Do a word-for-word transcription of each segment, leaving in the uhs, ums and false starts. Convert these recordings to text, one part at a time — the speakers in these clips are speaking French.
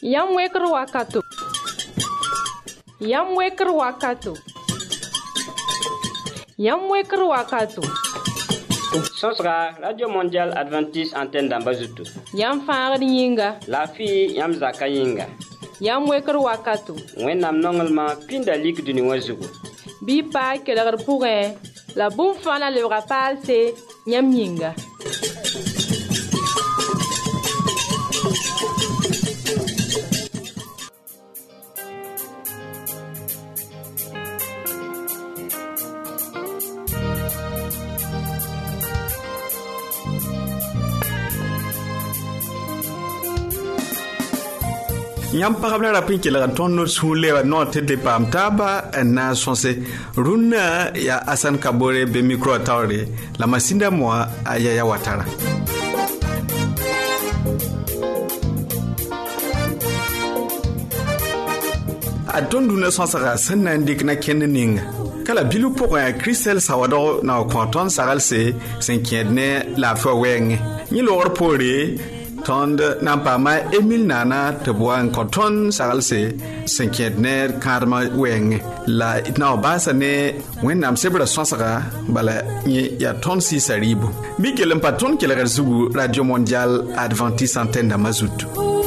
Yam weker wakato. Yam weker wakato. Yam weker wakato. Sosra, Radio Mondiale Adventiste Antenne d'Ambazutu. Yam faar yinga. La fille Yam Zaka yinga. Yam weker wakato. Wennam nongelma pinda lik du niwazugu. Bi pa keler pourrin. La boum fana le rapal c'est Yam yinga. Yam parabla rapin ki la ton no sule wa no tete pam taba na sonse runa ya Asan Kabore be micro tawre la masinda moi aya ya watara adon duna sonsa sanna ndik na kenninga kala bilu poko ya Christel Sawado na konton saralse cinquième la fois weng ni lor pore tond nampama Emile Nana teboan konton saralse cinquième karma weng la itna basa ne wennam sebra sonsara bala ni ya ton si saribu mikelem paton kele zugu Radio Mondiale Adventiste Antenne d'Amazut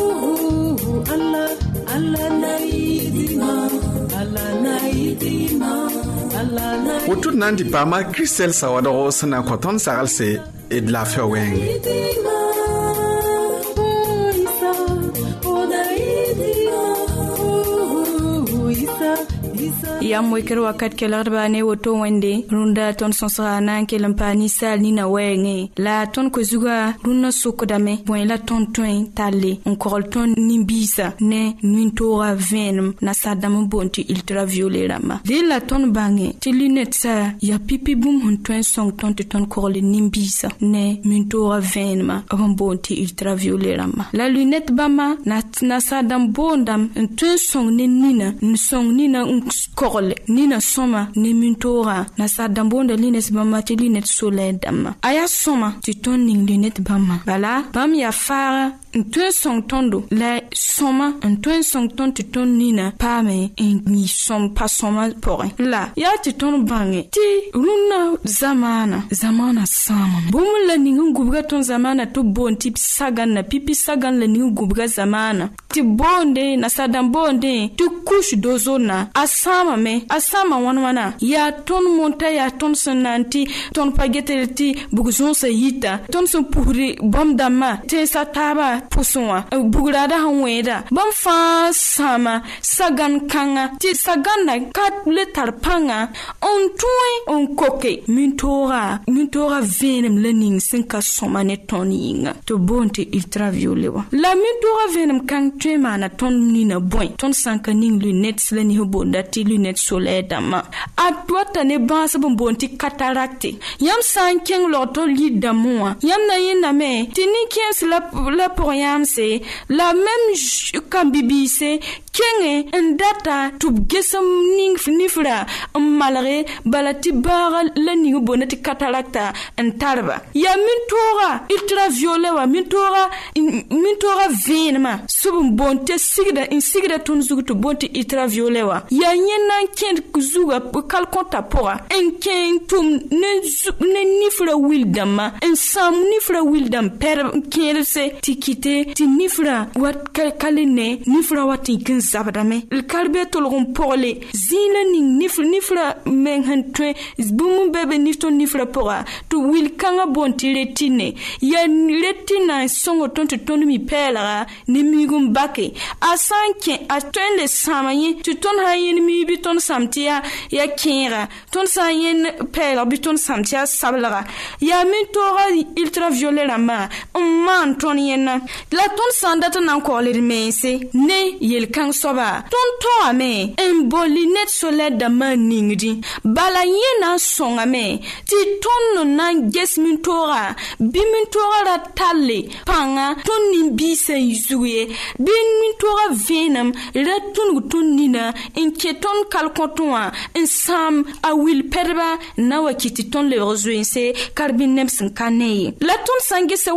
Autour nandi pama Christel Sawado sana konton saralse et de la faire weng Yam weker wakat kelar bane woto wende runda ton sonsra nan kelam pani sal ni na wenge la ton ko zuga runa sokodame bon la ton ton tale on korol ton nimbisa ne nintora venom na sadam bonti ultraviolet rama de la ton bange ti lunette sa ya pipi bum hun ton song ton ton korol nimbisa ne nintora venom on bonti ultraviolet rama la lunette bama na na sadam bondam ton song ne nina song nina korol nina soma ne mintora na sadambonda lines bama ti linet soleil dama aya soma ti ton ning linet bama bala bam ya fara un song tondo la soma un song ton ti ton nina pame en mi som pa soma pore la ya ti ton bange ti runa zamana zamana sama bum la ning gubga ton zamana to bon tip sagan na pipi sagan la ning gubga zamana ti bonde na sadambonde ti couche dozona asama me asama wana wana ya ton monta ya ton sananti ton pagetelti bugzon sa yita ton son puri bom dama te sataba puswa bugrada hanweda bam fa sama sagan kanga ti sagan na kat le tarpanga on toy on koke mintora mintora venem lening sinka soma ne toninga to bonte ultraviolet wa la mintora venem kan tema na ton nina boy ton sanka ning lunettes le ni bonda ti lunettes soleil dama atwata ne bansa bonti cataracte yam sankeng loto lidamwa yam na yina me tini kiens la la pour yam c'est la même kambibise kenge ndata tu gesam ning fnifra malare balati bara la ning bonati cataracta ntarba ya mintora ultraviolet wa mintora mintora venema sub bonte sigda in sigda ton zugutu bonti ultraviolet wa ya nyena kend kuzuga kal konta pora en ken tum ne ne nifra wildama en sam nifra wildam per kerse tikite ti nifra wat kaline nifra wati kin zabadame el karbe tolgon porle zina ni nifra nifra men hantwe bum bebe nifto nifra pora to wil kanga bonti retine ya retina songo tonto tonu mi pela ni migum bake asanke atende samaye tu ton hayin mi biton samtia ya kira ton sayen pela biton samtia sablara ya mintora ultraviolet la ma man ton yena la ton sandata nan ko le mense ne yel kan soba ton to ame en bolinet soleil da maningdi bala yena songa me ti ton nan ges mintora bi mintora la talle panga ton nimbise yuye bi mintora venam la ton ton nina en keton kalkontoa en sam a wil perba na wakiti ton le rejoinse karbinem sin kanei la ton sange se wakata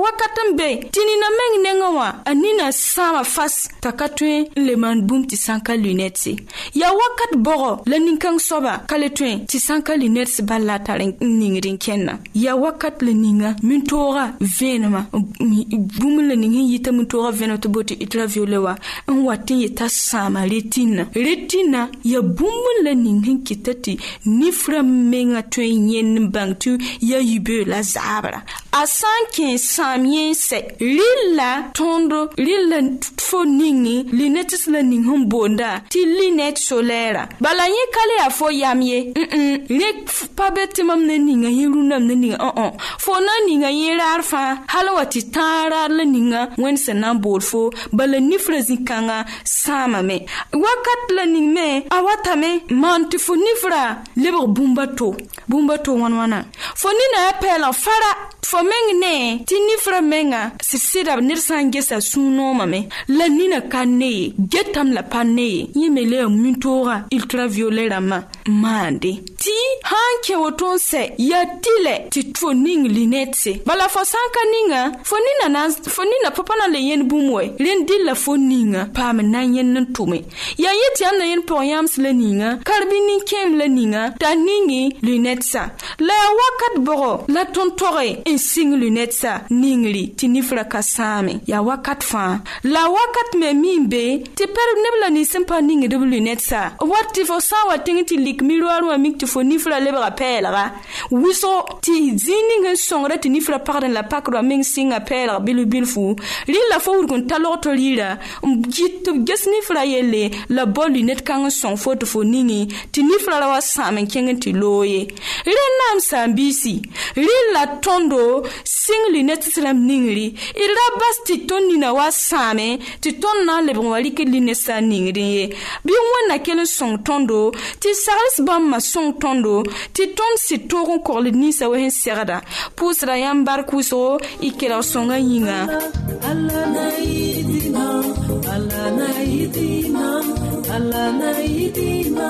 sembe tinina meng nengawa anina sama fas takatwen le man boom ti sanka lunette ya wakat bogo la ninkang soba kaletwen ti sanka lunette balla taren ningrin kenna ya wakat le ninga mintora venema boom le ningi yita mintora venema to boti itra violewa en watin yita sama retina retina ya boom le ningi kitati nifra menga twen yen bangtu ya yube la zabra asanke samien se lilla tondo lilla foningi linetis la ninghum bonda ti linet solera balanye kale afo yamye mm le pabeti mam ne ninga yirunam ne ninga oh oh fo na ninga yirar fa halawati tara la ninga wen senan bolfo bala nifrazi kanga sama me wakat la ningme awata me manti fo nifra lebo bumbato bumbato wanwana fo nina apela fara fo mengne ti nifra menga sisira nirsange sa suno mame la nina kanne getam la panne yimele mintora ultraviolet rama mande ti hanke wotonse ya tile ti toning linetse bala fo sanka ninga fo nina na fo nina papa na le yen bumwe len dilla fo ninga pam na yen nan tume ya yeti am na yen poyams le ninga karbini kem le ninga ta ningi lunetsa la wakat boro la tontore en sing lunetsa ningli ti nifra kasame ya wakat fa la wakat me mimbe ti per nebla ni sempa ningi de lunetsa wati fo sawa tingiti lik miroir wa mikti fo nifra le rappela wiso ti zininga songra ti nifra parden la pakro ming singa pela bilu bilfu li la fo urkon taloto lira git ges nifra yele la bol lunet kan son foto fo ningi ti nifra la wasame kengen ti loye le nam sambisi li la tondo sing lunet slam ningri ira basti tonni na wasame ti tonna le bon wali ke linesa ningri bi wona ken son tondo ti sals bam ma son tondo ti ton si toron korle ni sa we serada pusra yambar kuso ikela songa yinga alla naidina alla naidina alla naidina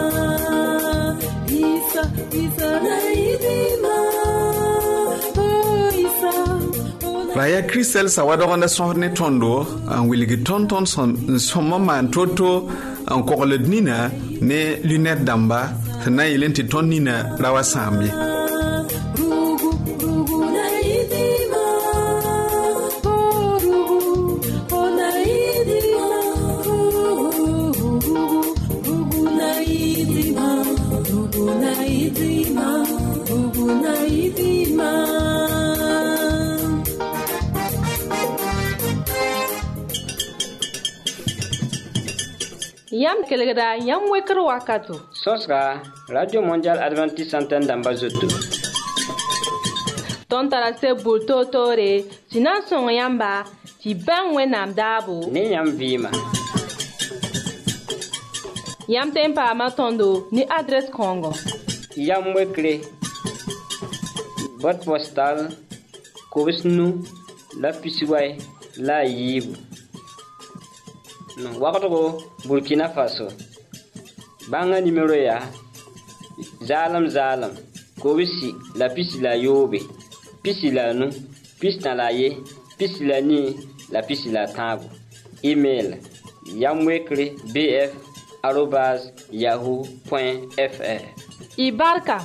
isa isa naidina Raya Christel sawadonda sohne tondo an wiligi tonton son somma man toto an kokoled nina ne lunette damba na yelenti ton nina rawa sambi Yam kelegada yam wekro wakato. Sosra Radio Mondial Adventiste Antenne d'Ambazoto. Ton tarase bulto tore, sinan son yamba, ti ben wenam dabo. Ne yam vima. Yam tempa matondo ni adresse Congo. Yam wekre. Boîte postale Korisnu la Pisiway la Yibu. No, wakato Burkina Faso. Banga numéro ya Zalam Zalam Korisi la pisi la Yobe. Pisi la nu, pisi na la ye, pisi la ni, la pisi la tabu. Email yamwekre bf arobase yahoo point fr. Ibarka.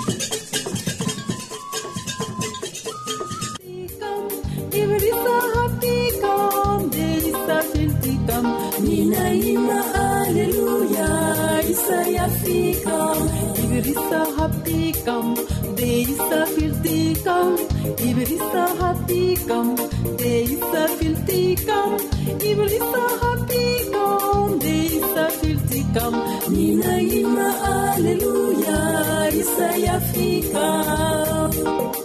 Nina ima hallelujah Isaiah fikam Ibrisa hapikam Deisa filtikam Ibrisa hapikam Deisa filtikam Ibrisa hapikam Deisa filtikam Nina ima hallelujah Isaiah fikam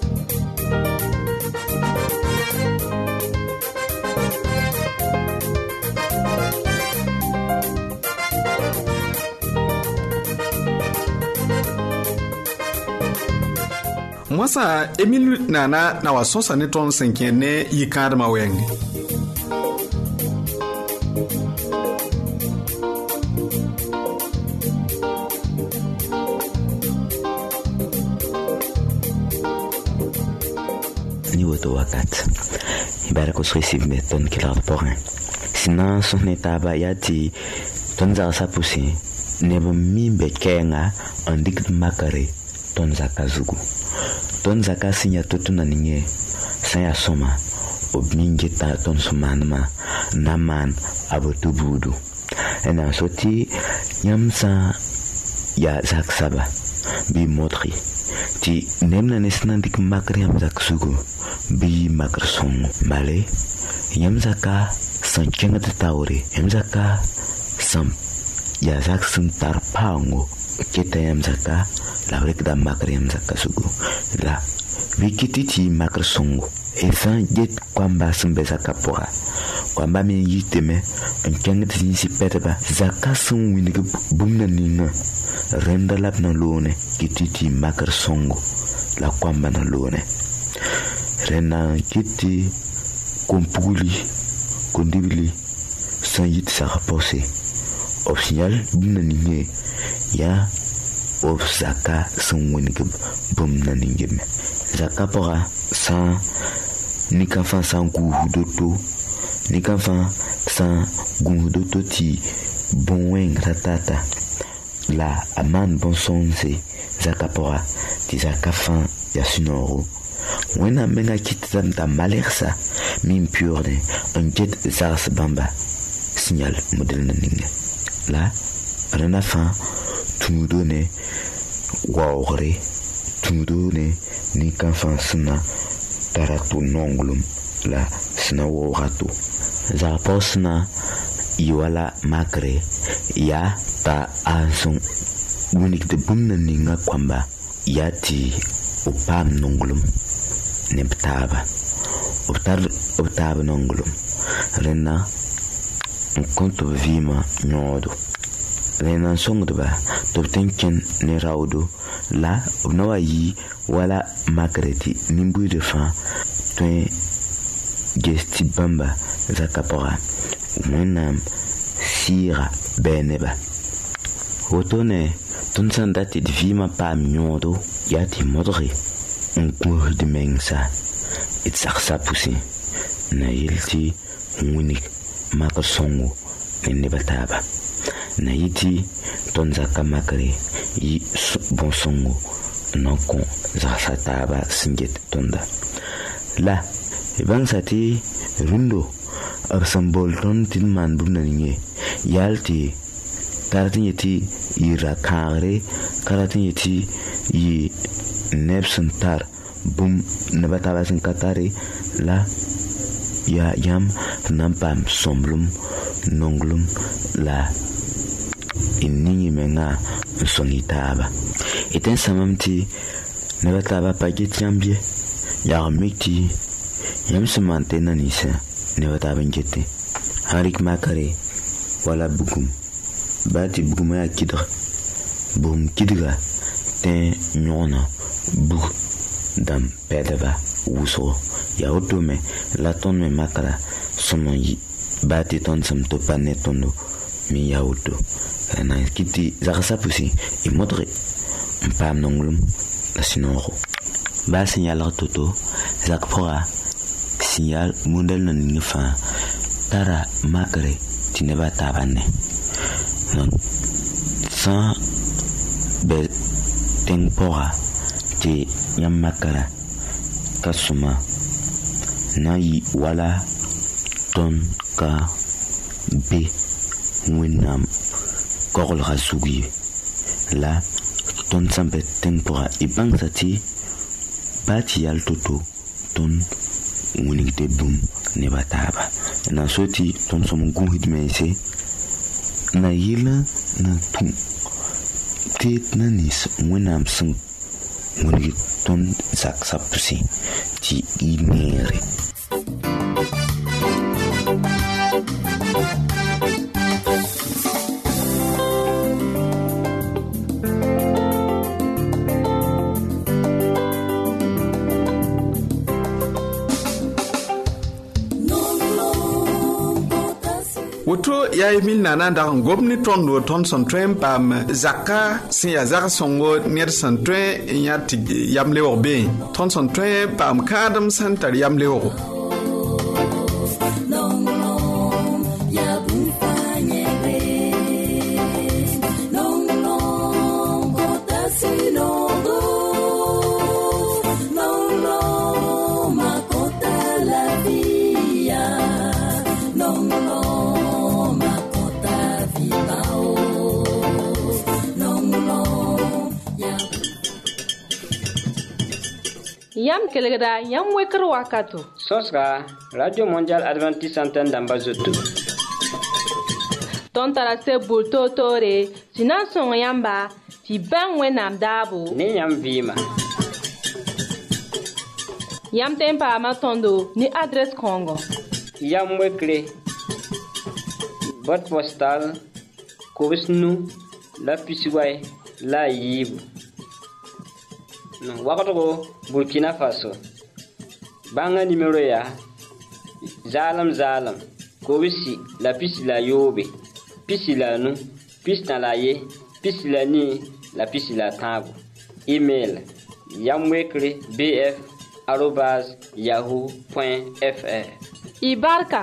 Mwasa Emile Nana na wasosa ne ton senkene yikad mawenge. Ni woto wakat. berko srisiv me ton kilar porin sinan sonne taba yati ton za sapusi nebo mi be kenga andik makare ton zakazugu ton zakasinya totuna ninge saya soma obmingeta ton sumanma naman abotubudu ena soti yamsa ya zaksaba bi modri ti nemna nesna dik makare am zaksugu bi makrson male yamzaka san kenga taure yamzaka sam ya zaksun tarpango kita yamzaka la rekda makare yamzaka sugu la wikititi makrson esan jet kwamba sembeza kapora kwamba mi yiteme enkenga tinsi peteba zakasun winige bumna ninga renda lap na lone kititi makrson la kwamba na lone rena kiti kompuli kondibili san yit sa rapose au signal bumna ninge ya of zaka san winige bumna ninge zaka pora san ni kan fan san guhu doto ni kan fan san guhu doto ti bonwen ratata la aman bon sonse zakapora ti zakafan ya sunoro wena menga kitam ta malersa min purde un jet zars bamba signal model naninga la rena fan tumudone waore tumudone ni kan fan sna taratu nongulum la sna worato za posna iwala makre ya ta anson unik de bumna ninga kwamba yati upam nongulum neptaba optar optaba nongulum rena konto vima nyodo rena songdba tobtenken ne raudo la obnawayi wala makreti nimbu de fa twen gesti bamba zakapora mwenam sira beneba otone ton sandati vima pa miodo yati modri un cour de mengsa et saksa pusi na yilti unik makersongo ne bataba na yiti ton zakamakre yi bonsongo non kon zakataba singet tonda la ibang sati rundo arsambol ton tilman bunanye yalti karatin yati ira kare karatin yati yi nebsantar bum nabataba sin katare la ya yam nampam somblum nonglum la inni menga sonitaba eten samamti nabataba paget yambie ya miti yam semante nanisa nabataba ngete harik makare wala bugum bati buguma ya kidra bum kidra ten nyona bug dam pedaba uso ya otome la ton me makara sono yi bati ton sam to panetondo mi ya auto na kiti zakasa pusi e modre pam nongulum la sinoro ba signal toto zakpora signal model na ninfa tara makare tineba tabane non sans be tempora ti yamakara kasuma na yi wala ton ka be winam korol rasugi la ton sampe tempora ibang sati bati al toto ton winig de bum ne bataba na soti ton som guhid mense na yila na tum tet na nis winam sing winig ton zak sapsi ti inere woto ya emil nana da ngobni tondo ton son tren pam zaka sin ya zaka songo ner son tren nyati yamle orbe ton son tren pam kadam santar yamle orbe Yam kelgda yam wekr wakato. Sosra Radio Mondial Adventiste Antenne d'Ambazoto. Ton tarase bulto tore, sinan son yamba, ti ban wenam dabo. Ni yam vima. Yam tempa matondo ni adresse Congo. Yam wekre. Boîte postale Kobisnu la Pisiway la Yibu. No, wakato Burkina Faso. Banga numéro ya Zalam Zalam Kobisi la Pisi la Yobe. Pisi la nu, Pisi na la ye, Pisi la ni, la Pisi la tabu. Email yamwekre bf arobase yahoo point fr. Ibarka.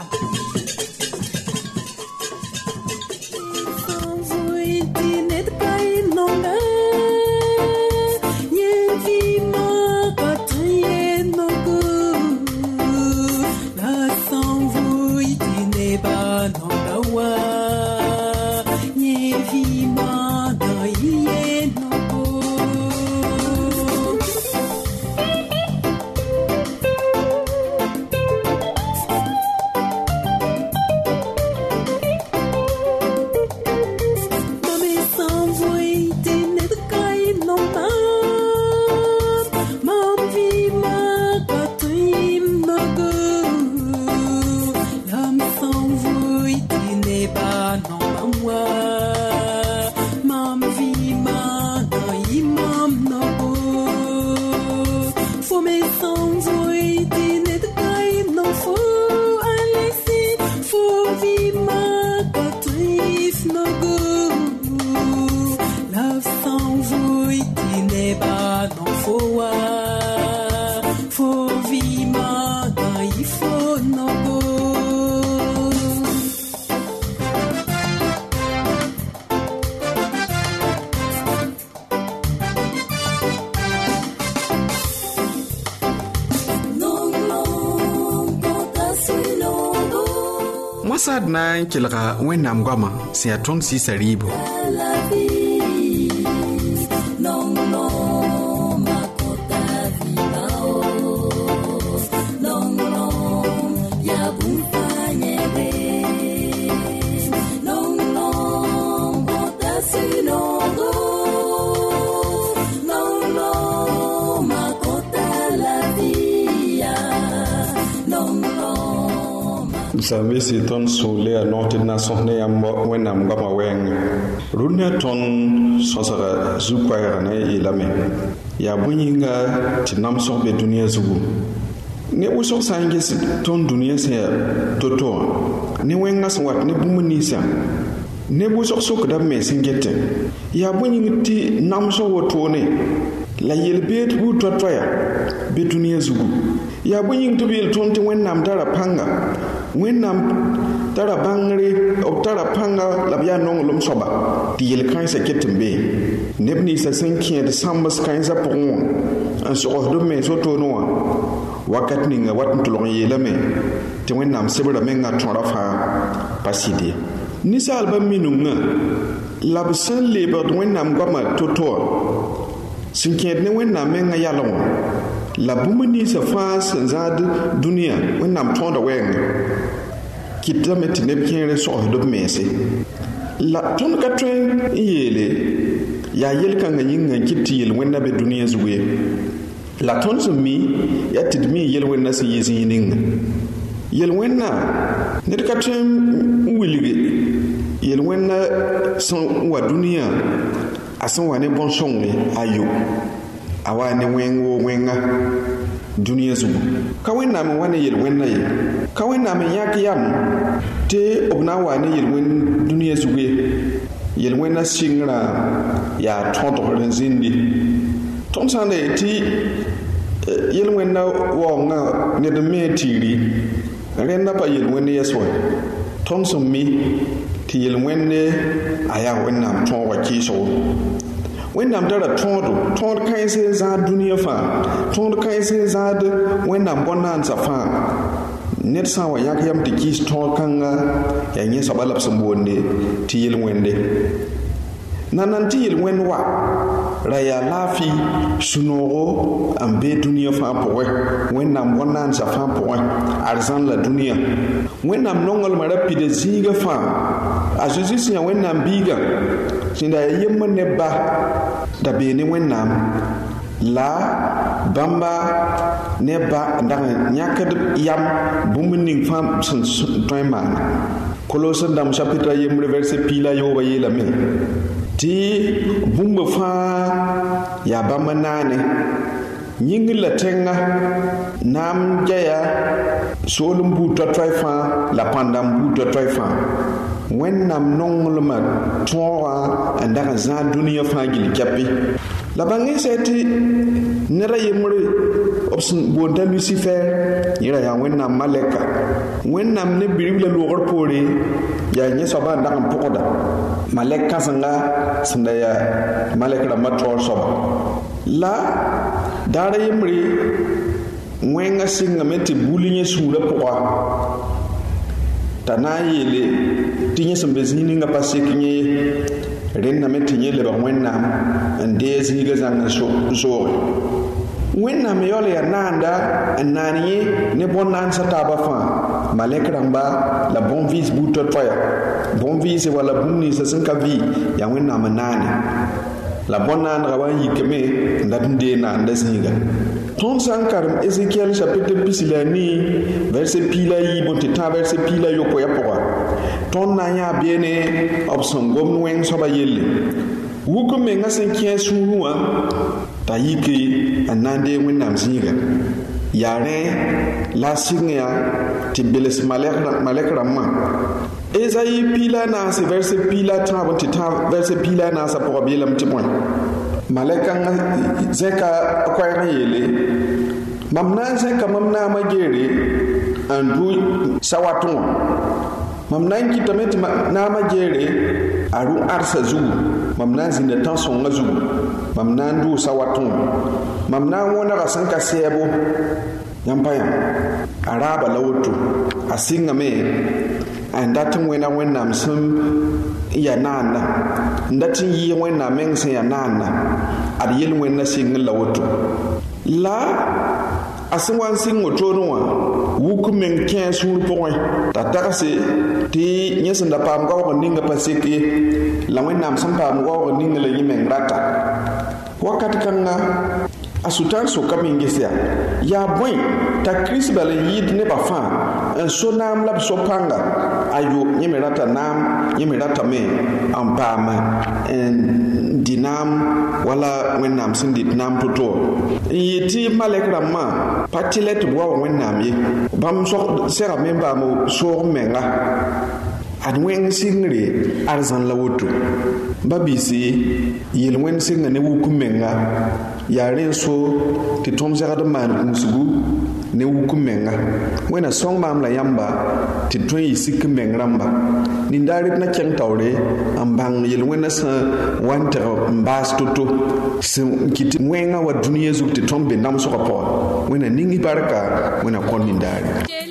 Sad na kilga wenam gama si aton si saribo. Sabe si ton sole a norte na sonne am wenam gama weng runne ton sosara zukwara na ilame ya bunyinga tinam so be dunia zugu ne uso sange ton dunia se toto ne wenga swat ne bumunisa ne buso sok da me singete ya bunyinga ti nam so wotone la yelbet bu totoya be dunia zugu ya bunyinga to bil ton te wenam dara panga Wenam tara bangre o tara panga labia nong lom soba ti yel kan sa ketembe nebni sa cinquième de sambas kan sa pon en so do me so to no wakat ni nga wat ntulong yelame ti wenam sebra menga tora fa paside ni sa alba minunga labsan leba wenam goma toto cinquième ne wenam menga yalong la bumuni sa fas zad dunia wenam tonda weng kita met nebkere so do mese la ton ka tren yele ya yel kan yinga kitil wenna be dunia zuwe la ton zumi ya tidmi yel wenna si yizinin yel wenna ne ka tren wilige yel wenna son wa dunia asan wa ne bon songle ayo awa ne wengo wenga dunia zugu ka wenna me wane yel wenna ye ka wenna me yak yam te obna wane yel wen dunia zugu yel wenna singra ya tonto renzindi ton sande ti yel wenna wonga ne de metiri renna pa yel wenna yeswa ton sommi ti yel wenne aya wenna ton wa kiso Wenam dara tondo tond kaise za dunia fa tond kaise za de wenam bonanza fa ned sã n wa yãk yam tɩ kɩɩs tõog kãnga yaa yẽ soaba la b sẽn boonde tɩ yel-wẽnde nan nan tɩ yel-wẽnd wa ra yaa laafɩ sũ-noogo n be dũniyã fãa pʋgẽ wẽnnaam bõn-naansã fãa pʋgẽ arzãn la dũniyã wẽnnaam nonglmã ra pida zĩigã fãa a zeezi sẽn yaa wẽnnaam biigã sẽn da yaa yembr ne ba da bee ne wẽnnaam la bãmba ne ba n dag n yãkd yam bũmb ning fãa sẽn tõe n maana Kolosẽn-dãmb chapitre a yembre verset piila yooba yeelame tɩ bũmb fãa yaa bãmb naane yĩngr la tẽnga naam gɛya soolem buud toa-toɛ fãa la pãndam buud toa-toɛ fãa wẽnnaam nonglmã tõogã n dag n zãag dũniyã fãa gill kɛpɩ la bãngẽ sɛ tɩ ned a yembre b sẽn boond t'a Lucifer yẽ ra yaa wẽnnaam malɛka wẽnnaam ne birib la loogr poore yaa yẽ soaba n dag n pʋgda malɛk kãsenga sẽn da yaa malɛk rãmbã taoor soaba la daara yembre wẽngã sɩngame tɩ bul yẽ sũurã pʋga t'a na n yeele tɩ yẽ sẽn be zĩig ninga pa sek yẽ ye rẽndame tɩ yẽ lebg wẽnnaam n dee zĩigã zãng n zooge wẽnnaam yaool yaa naanda n naan yẽ ne bõn-naansã taabã fãa malɛk rãmba la bõn-vɩɩs buud toa-toɛya bõn-vɩɩse wala bũmb ninsã sẽn ka vɩɩ yaa wẽnnaam n naane la bõn-naandgã wa n yikame n dat n dee naanda zĩiga tõnd sã n karem Ézéchiel chapitre pis la a nii verset piila a yiib n tɩ tã verset piila a yopoya pʋga tõnd na n yãa beene b sẽn gomd wẽng soaba yelle wuk n mengã sẽn kẽ a sũurẽ wã t'a yike n na n dee wẽnnaam zĩiga yaa rẽ la a sɩng yã tɩ bels malɛk rãmbã Ezayi piila a naase verset piila a tãab n tɩ tã verset piila a naasã pʋga b yeelame tɩ bõe malɛkãngã zẽka koɛɛg n yeele mam na n zẽka mam naamã geere n dʋ sawatẽ wã mam na n kɩtame tɩ naamã geere a rũ arsã zugu mam na n zĩnda tãn-sõngã zugu mam na n dʋʋ sawatẽ wã mam na n wõnega sẽn ka sɛɛbo yãmb pa yã a raaba la woto a sɩngame n dat n wẽna wẽnnaam sẽn ya naanda n dat n yɩɩg wẽnnaam meng sẽn ya naanda ad yel-wẽnna sɩng la woto la a sẽn wa n sɩng wotone wã wuk meng kẽ a sũur pʋgẽ t'a tagse tɩ yẽ sẽn da paam gaoog ninga pa sek ye la wẽnnaam sẽn paam gaoog ninga la yẽ meng rata wakat kãnga a sʋtãan sokame n ges yaa yaa bõe t'a kirist bala n yɩɩd nebã fãa n so naam la b so pãnga ayo yẽ me rata naam yẽ me ratame n paam n dɩ naam wala wẽnnaam sẽn dɩt naam to-to n yɩ tɩ malɛk rãmbã pa tɩ la tɩ b wa wa wẽnnaam ye bãmb segame n paam soog menga ad wẽng sɩngre arzãn la woto ba-biise yel-wẽnd sɩnga ne wuk menga yaa rẽ so tɩ tõnd segd n maan gũusgu ne wuk menga wẽna sõng maam la yãmba tɩ tõe n yɩ sik meng rãmba nindaar d na kẽng taoore n bãng yel-wẽnã sẽn wa n teg n baas to-to sẽn kɩt wẽngã wa dũniyã zug tɩ tõnd be namsgã pʋga wẽna ning barka wẽna kõ nindaare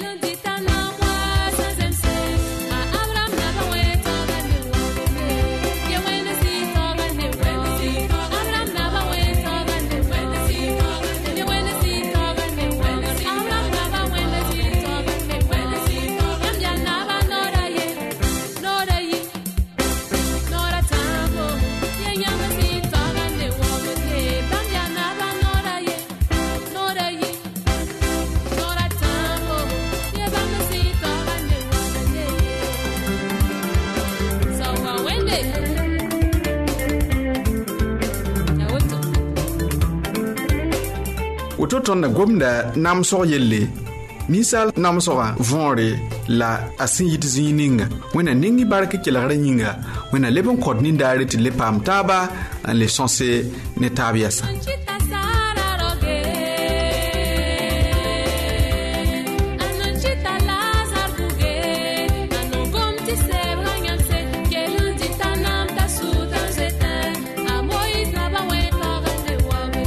woto tõnd na gomda namsg yelle ninsal namsgã võore la a sẽn yɩt zĩig ninga wẽna ning bark kelgrã yĩnga wẽna leb n kõt nindaare tɩ le paam taaba n le sõse ne taab yɛsa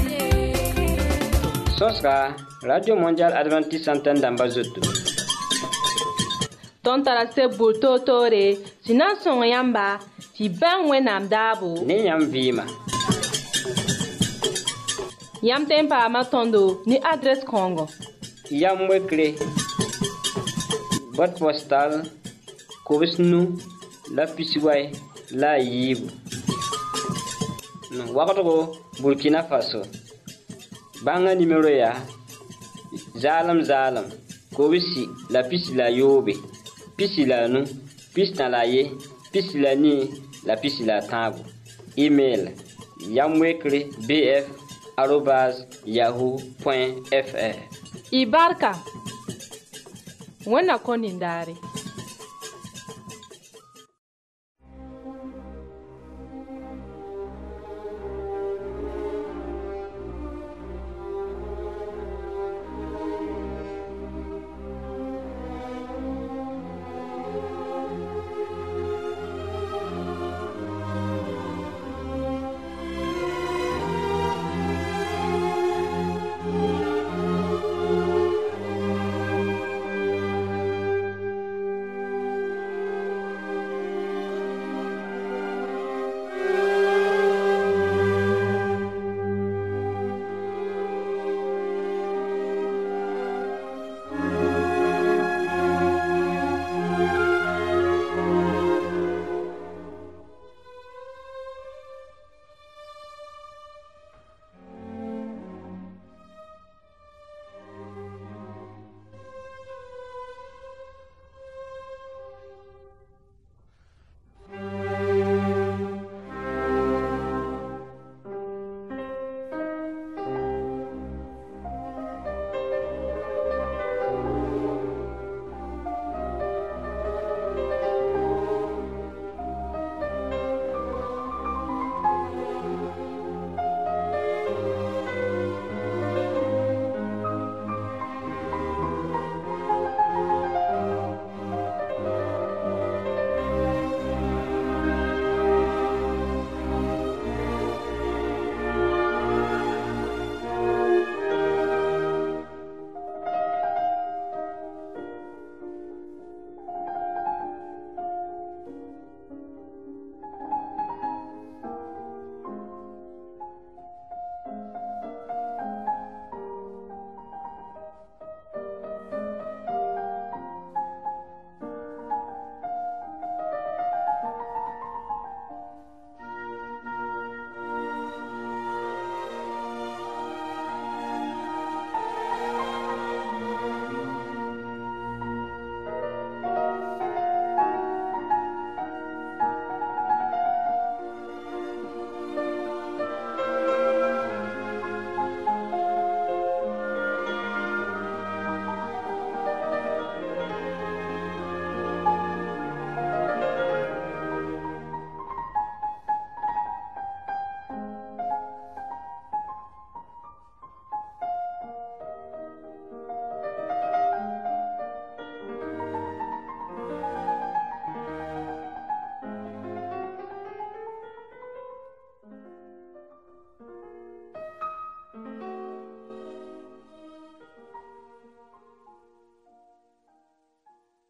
Sosra Radio Mondial Adventiste Antenne d'Ambazoto. Ton tara se bulto tore, si nan son yamba, si ben wenam dabo. Ne yam vima. Yam tempa ma tondo, ni adres Congo. Yam wekre. Boîte postale, Kobisnu, la Pisiway, la Yibu. Wakato Burkina Faso. Banga numéro ya. Zalam zalam. Kobisi la pisi la yobe. Pisi la nu. Pisi na la ye. Pisi la ni. La pisi la tabu. Email. Yamwekre bf arobase yahoo point fr. Ibarka. Wena konindari.